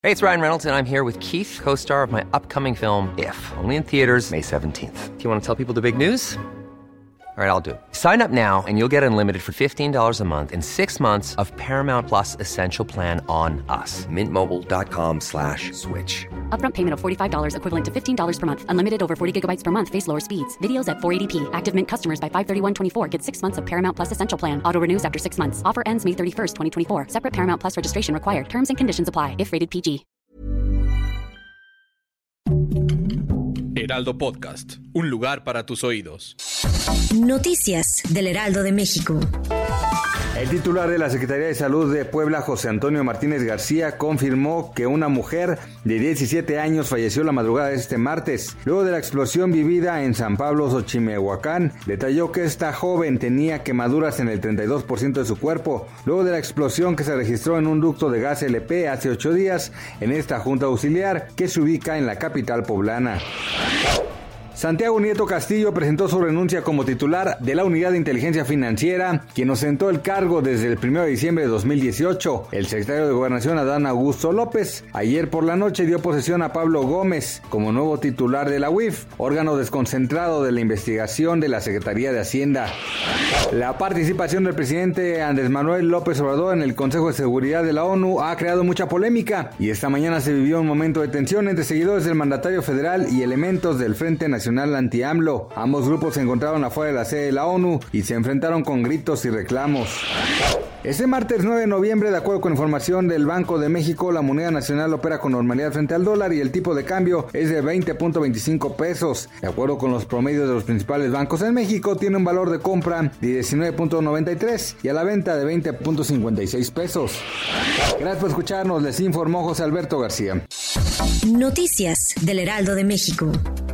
Hey, it's Ryan Reynolds, and I'm here with Keith, co-star of my upcoming film, If, only in theaters May 17th. Do you want to tell people the big news? All right, I'll do it. Sign up now and you'll get unlimited for $15 a month and 6 months of Paramount Plus Essential Plan on us. MintMobile.com/switch. Upfront payment of $45 equivalent to $15 per month. Unlimited over 40 gigabytes per month. Face lower speeds. Videos at 480p. Active Mint customers by 531.24 get 6 months of Paramount Plus Essential Plan. Auto renews after 6 months. Offer ends May 31st, 2024. Separate Paramount Plus registration required. Terms and conditions apply if rated PG. Heraldo Podcast, un lugar para tus oídos. Noticias del Heraldo de México. El titular de la Secretaría de Salud de Puebla, José Antonio Martínez García, confirmó que una mujer de 17 años falleció la madrugada de este martes. Luego de la explosión vivida en San Pablo, Xochimehuacán, detalló que esta joven tenía quemaduras en el 32% de su cuerpo. Luego de la explosión que se registró en un ducto de gas LP hace 8 días en esta junta auxiliar que se ubica en la capital poblana. Santiago Nieto Castillo presentó su renuncia como titular de la Unidad de Inteligencia Financiera, quien ostentó el cargo desde el 1 de diciembre de 2018. El secretario de Gobernación, Adán Augusto López, ayer por la noche dio posesión a Pablo Gómez como nuevo titular de la UIF, órgano desconcentrado de la investigación de la Secretaría de Hacienda. La participación del presidente Andrés Manuel López Obrador en el Consejo de Seguridad de la ONU ha creado mucha polémica y esta mañana se vivió un momento de tensión entre seguidores del mandatario federal y elementos del Frente Nacional Anti-AMLO. Ambos grupos se encontraron afuera de la sede de la ONU y se enfrentaron con gritos y reclamos. Este martes 9 de noviembre, de acuerdo con información del Banco de México, la moneda nacional opera con normalidad frente al dólar y el tipo de cambio es de 20.25 pesos. De acuerdo con los promedios de los principales bancos en México, tiene un valor de compra de 19.93 y a la venta de 20.56 pesos. Gracias por escucharnos, les informó José Alberto García. Noticias del Heraldo de México.